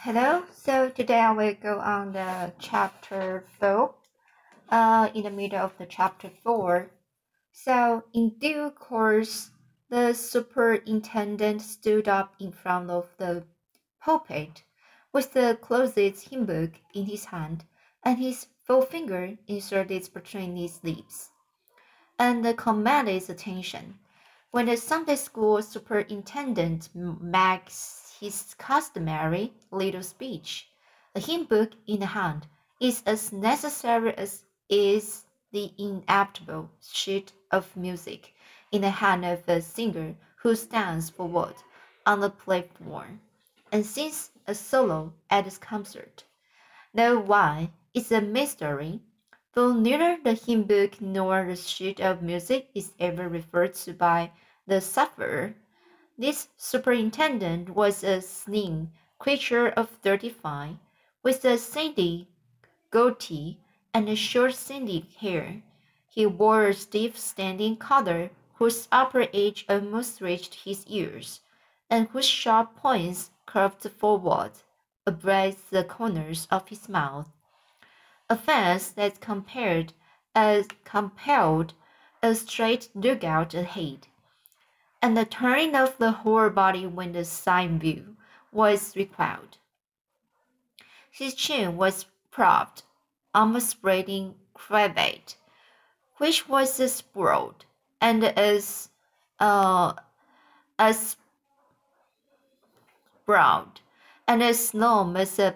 Hello, so today I will go on the chapter 4, in the middle of the chapter 4. So, in due course, the superintendent stood up in front of the pulpit with the closed hymn book in his hand and his forefinger inserted between his lips, and commanded attention. When the Sunday school superintendent makes his customary little speech, a hymn book in the hand is as necessary as is the inevitable sheet of music in the hand of a singer who stands forward on the platform and sings a solo at his concert. Though why is a mystery, though neither the hymn book nor the sheet of music is ever referred to by the sufferer. This superintendent was a slim creature of 35, with a sandy goatee and a short sandy hair. He wore a stiff standing collar whose upper edge almost reached his ears, and whose sharp points curved forward, abreast the corners of his mouth. A face that compelled a straight lookout ahead, and the turning of the whole body when the side view was required. His chin was propped on a spreading cravat, which was as broad and uh, as broad and as long as a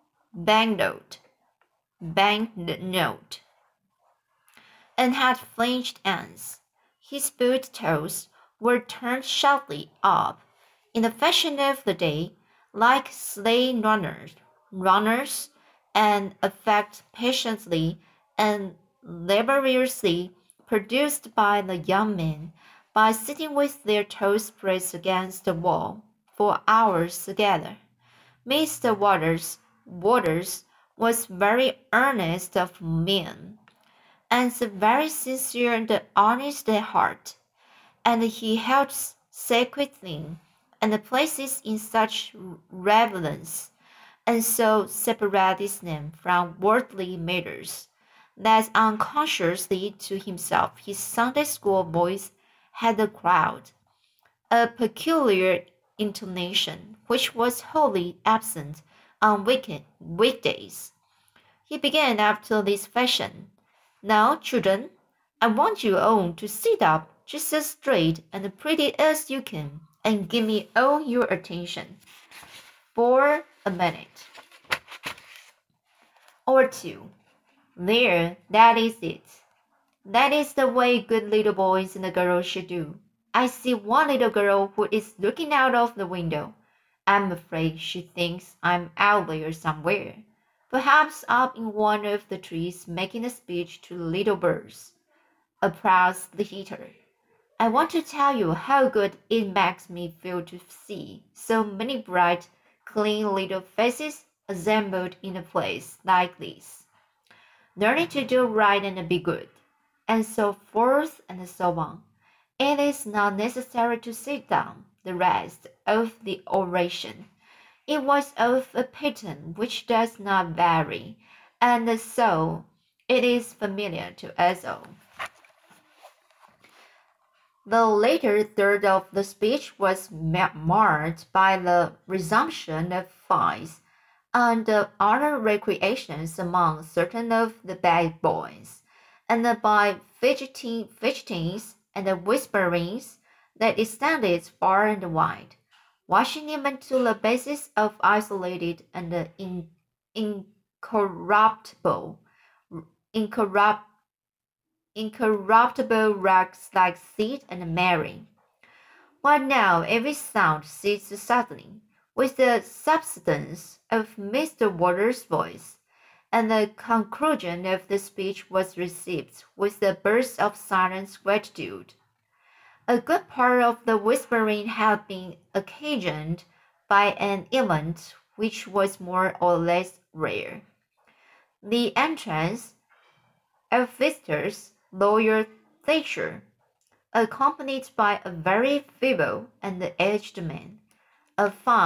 banknote, and had flanged ends. His boot toes were turned sharply up, in the fashion of the day, like sleigh runners, and effect patiently and laboriously produced by the young men by sitting with their toes pressed against the wall for hours together. Mr. Waters was very earnest of mien, and very sincere and honest at heart, and he held sacred things and places in such reverence, and so separated his name from worldly matters, that unconsciously to himself his Sunday school voice had acquired a peculiar intonation which was wholly absent on weekdays. He began after this fashion. Now, children, I want you all to sit up just as straight and pretty as you can, and give me all your attention for a minute or two. There, that is it. That is the way good little boys and girls should do. I see one little girl who is looking out of the window. I'm afraid she thinks I'm out there somewhere, perhaps up in one of the trees making a speech to little birds. Applause the heater. I want to tell you how good it makes me feel to see so many bright, clean little faces assembled in a place like this, learning to do right and be good, and so forth and so on. It is not necessary to sit down. The rest of the oration, it was of a pattern which does not vary, and so it is familiar to us all. The later third of the speech was marked by the resumption of fights and other recreations among certain of the bad boys, and by fidgetings and whisperings that extended far and wide, washing even to the basis of isolated and incorruptible, incorrupt, incorruptible rocks like Sid and Mary. While now every sound ceased suddenly, with the subsidence of Mr. Waters' voice, and the conclusion of the speech was received with a burst of silent gratitude. A good part of the whispering had been occasioned by an event which was more or less rare. The entrance of visitors, Lawyer Thatcher, accompanied by a very feeble and aged man, a fine,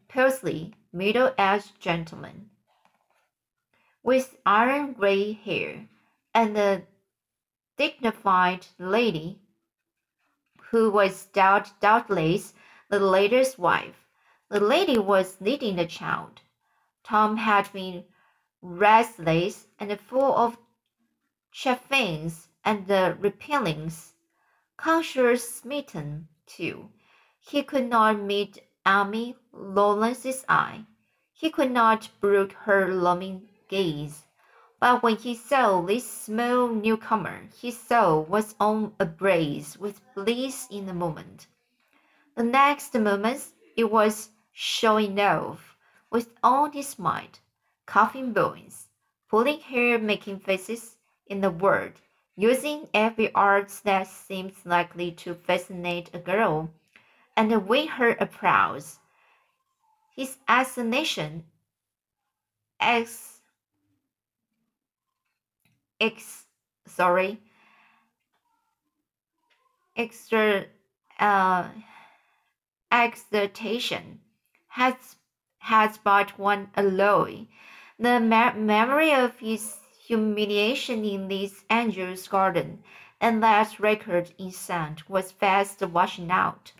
portly, middle-aged gentleman with iron gray hair, and a dignified lady who was doubtless the latter's wife. The lady was leading the child. Tom had been restless and full of chafings and repellings. Conscience-smitten, too, he could not meet Amy Lawrence's eye. He could not brook her loving gaze. But when he saw this small newcomer, his soul was on a blaze with bliss in a moment. The next moment it was showing off with all his might, coughing bones, pulling hair, making faces, in a word, using every art that seemed likely to fascinate a girl and win her applause. His assassination ex, ex sorry extra exaltation has but one alloy. The memory of his humiliation in this angel's garden and that record in sand was fast washing out.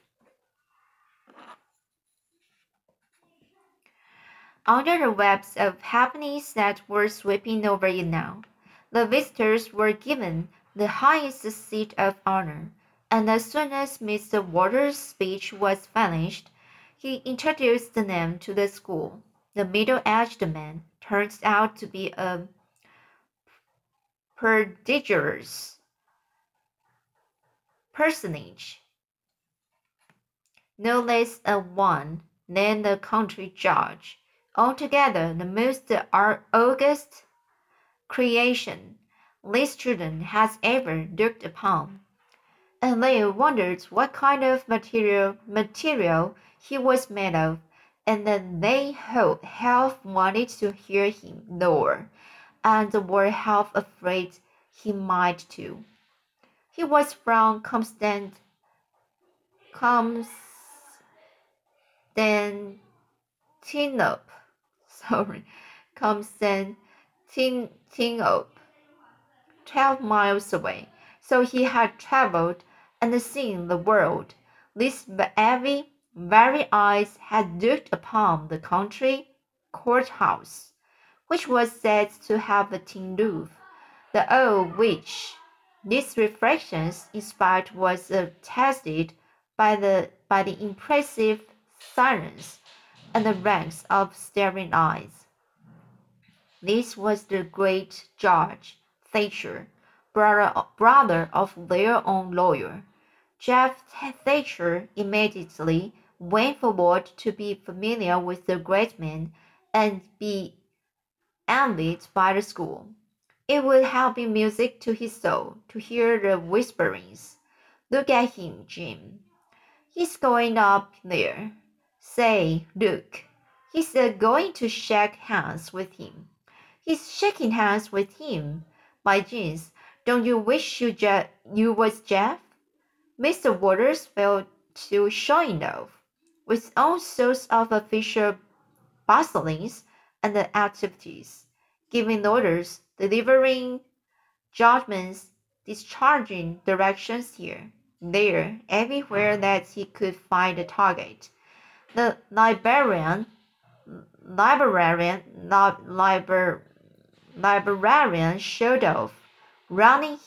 Under the webs of happiness that were sweeping over it now, the visitors were given the highest seat of honor, and as soon as Mr. Waters' speech was finished, he introduced them to the school. The middle-aged man turned out to be a prodigious personage, no less a one than the country judge, altogether the most august creation this children has ever looked upon, and they wondered what kind of material he was made of, and then they half wanted to hear him roar, and were half afraid he might too. He was from Constantinople, Constantinople, 12 miles away, so he had travelled and seen the world. These very eyes had looked upon the country courthouse, which was said to have a tin roof, the awe which these reflections inspired was attested by the impressive silence and the ranks of staring eyes. This was the great Judge Thatcher, brother of their own lawyer. Jeff Thatcher immediately went forward to be familiar with the great man and be envied by the school. It would have been music to his soul to hear the whisperings. Look at him, Jim. He's going up there. Say, look. He's going to shake hands with him. He's shaking hands with him. By jeans, don't you wish you was Jeff? Mr. Waters fell to showing off, with all sorts of official bustlings and activities, giving orders, delivering judgments, discharging directions here, there, everywhere that he could find a target. The librarian showed off, running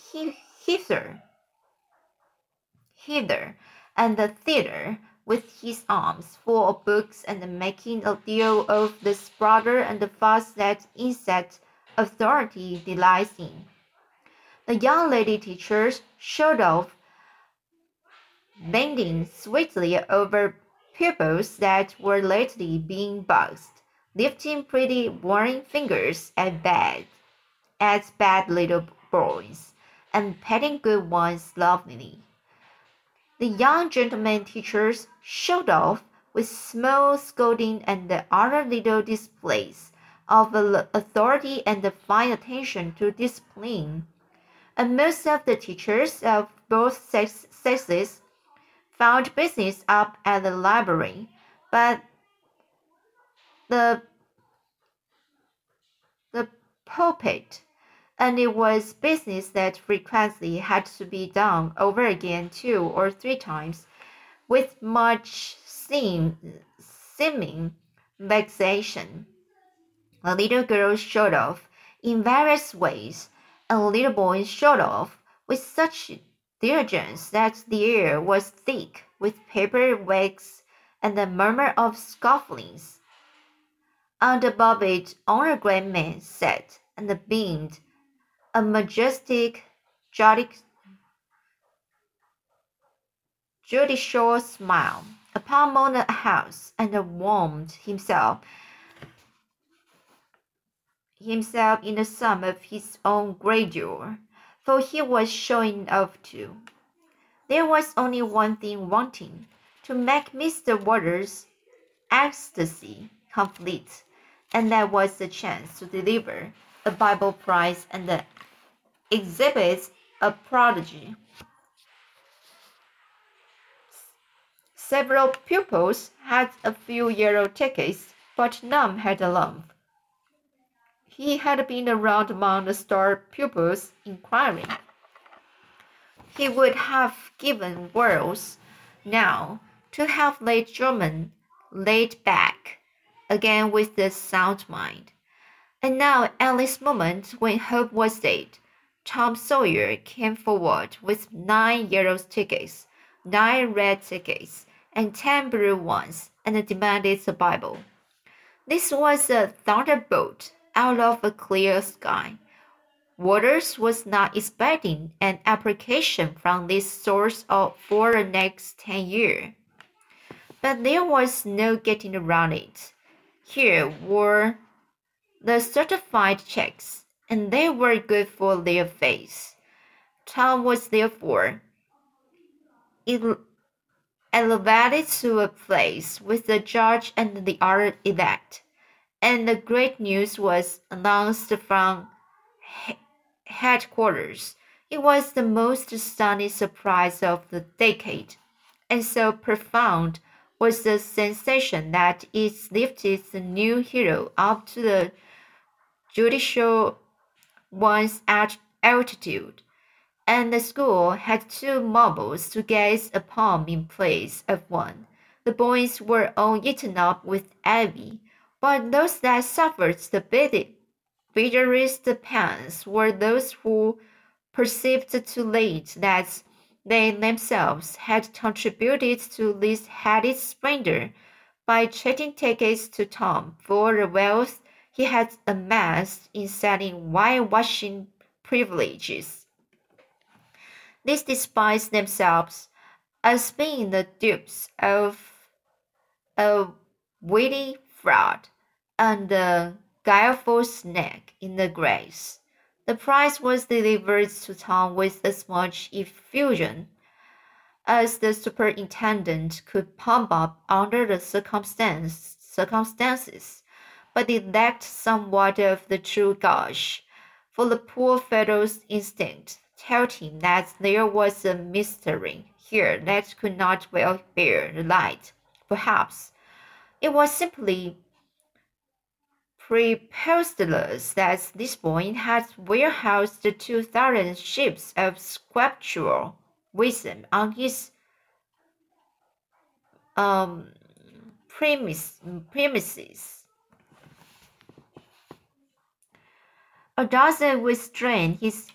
hither and thither with his arms full of books and making a deal of the sputter and the fuss that insect authority delights in. The young lady teachers showed off, bending sweetly over pupils that were lately being buzzed, lifting pretty warning fingers at bad little boys, and petting good ones lovingly. The young gentlemen teachers showed off with small scolding and other little displays of authority and fine attention to discipline, and most of the teachers of both sexes found business up at the library, but the the pulpit, and it was business that frequently had to be done over again 2 or 3 times, with much seeming vexation. The little girl showed off in various ways, and the little boy showed off with such diligence that the air was thick with paper wax and the murmur of scufflings. And above it on a great man sat and beamed a majestic judicial smile upon the house, and warmed himself in the sum of his own grandeur, for he was showing off too. There was only one thing wanting to make Mr. Waters' ecstasy complete, and that was the chance to deliver a Bible prize and exhibit a prodigy. Several pupils had a few yellow tickets, but none had a lump. He had been around among the star pupils, inquiring. He would have given worlds now to have laid Drummond laid back again with the sound mind. And now at this moment, when hope was dead, Tom Sawyer came forward with 9 yellow tickets, 9 red tickets, and 10 blue ones, and demanded the Bible. This was a thunderbolt out of a clear sky. Waters was not expecting an application from this source for the next 10 years. But there was no getting around it. Here were the certified checks, and they were good for their face. Tom was therefore elevated to a place with the judge and the other elect, and the great news was announced from headquarters. It was the most stunning surprise of the decade, and so profound was the sensation that it lifted the new hero up to the judicial one's altitude, and the school had 2 marbles to gaze upon in place of one. The boys were all eaten up with envy, but those that suffered the bitterest pangs were those who perceived too late that they themselves had contributed to this heady splendor by trading tickets to Tom for the wealth he had amassed in selling whitewashing privileges. These despised themselves as being the dupes of a witty fraud and a guileful snake in the grass. The prize was delivered to Tom with as much effusion as the superintendent could pump up under the circumstances, but it lacked somewhat of the true gush, for the poor fellow's instinct told him that there was a mystery here that could not well bear the light. Perhaps it was simply preposterous that this boy had warehoused 2,000 ships of scriptural wisdom on his premises. A dozen would strain his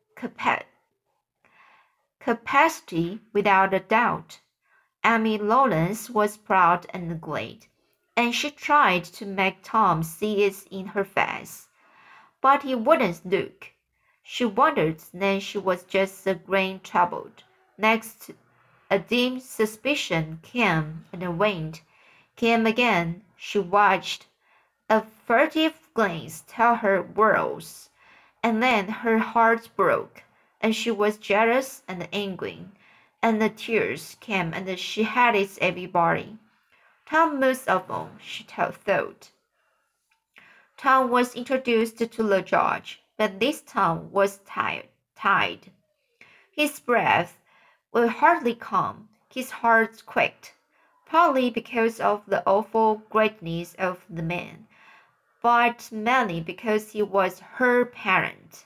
capacity without a doubt. Amy Lawrence was proud and glad, and she tried to make Tom see it in her face. But he wouldn't look. She wondered, then she was just a grain troubled. Next, a dim suspicion came and went, came again. She watched. A furtive glance told her worlds, and then her heart broke, and she was jealous and angry, and the tears came, and she hated everybody. Tom most of all, she thought. Tom was introduced to the judge, but this Tom was tired. His breath would hardly come. His heart quaked. partly because of the awful greatness of the man, but mainly because he was her parent.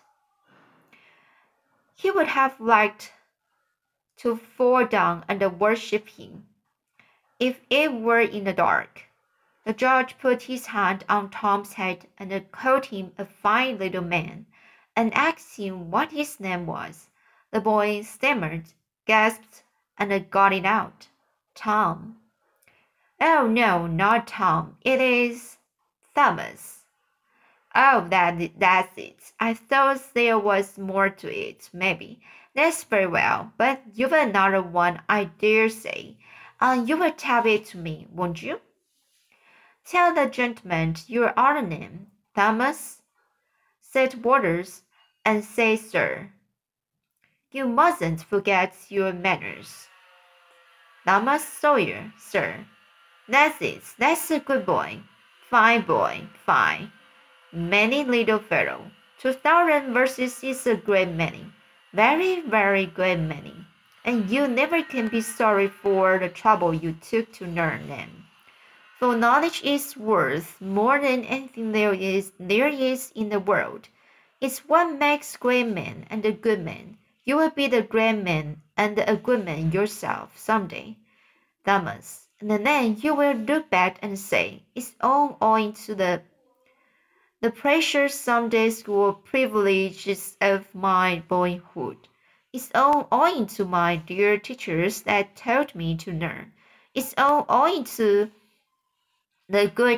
He would have liked to fall down and worship him, if it were in the dark. The judge put his hand on Tom's head and called him a fine little man, and asked him what his name was. The boy stammered, gasped, and got it out. Tom. Oh, no, not Tom. It is Thomas. Oh, that's it. I thought there was more to it, maybe. That's very well, but you've another one, I dare say. You will tell it to me, won't you? Tell the gentleman your other name, Thomas, said Waters, and say sir. You mustn't forget your manners. Thomas Sawyer, sir. That's it. That's a good boy. Fine boy, fine. Many little fellow. 2,000 verses is a great many. Very, very great many. And you never can be sorry for the trouble you took to learn them. For knowledge is worth more than anything there is in the world. It's what makes great men and a good man. You will be the great man and a good man yourself some day, Thomas. And then you will look back and say, it's all owing to the precious Sunday school privileges of my boyhood. It's all owing to my dear teachers that taught me to learn. It's all owing to the good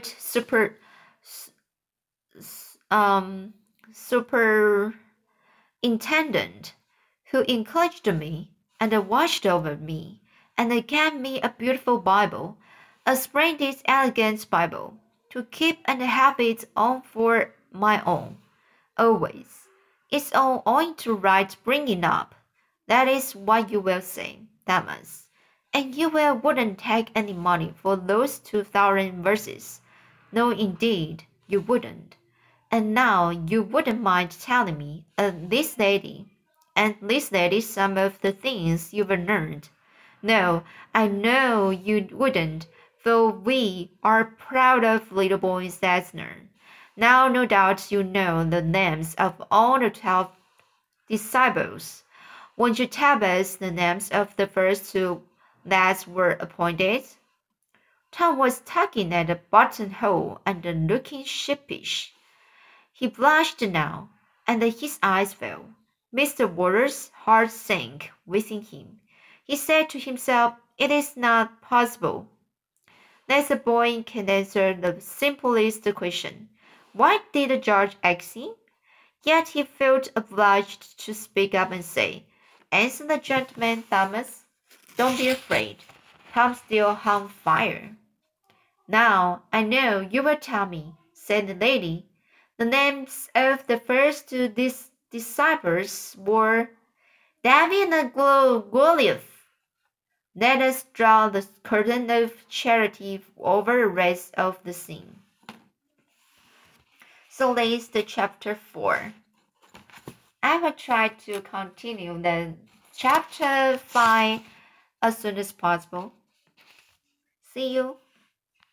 superintendent who encouraged me and watched over me and gave me a beautiful Bible, a splendid, elegant Bible, to keep and have it on for my own, always. It's all owing to right bringing up. That is what you will say, Thomas. And you wouldn't take any money for those 2,000 verses. No, indeed, you wouldn't. And now you wouldn't mind telling me, this lady, some of the things you've learned. No, I know you wouldn't, for we are proud of little boys that learn. Now, no doubt you know the names of all the 12 disciples. Won't you tell us the names of the first two that were appointed? Tom was tugging at the buttonhole and looking sheepish. He blushed now, and his eyes fell. Mr. Waters' heart sank within him. He said to himself, it is not possible that a boy can answer the simplest question. Why did the judge ask him? Yet he felt obliged to speak up and say, answer the gentleman, Thomas. Don't be afraid. Tom's still on fire. Now, I know you will tell me, said the lady. The names of the first two disciples were David and Goliath. Let us draw the curtain of charity over the rest of the scene. So that's the chapter 4. I will try to continue the chapter 5 as soon as possible. See you.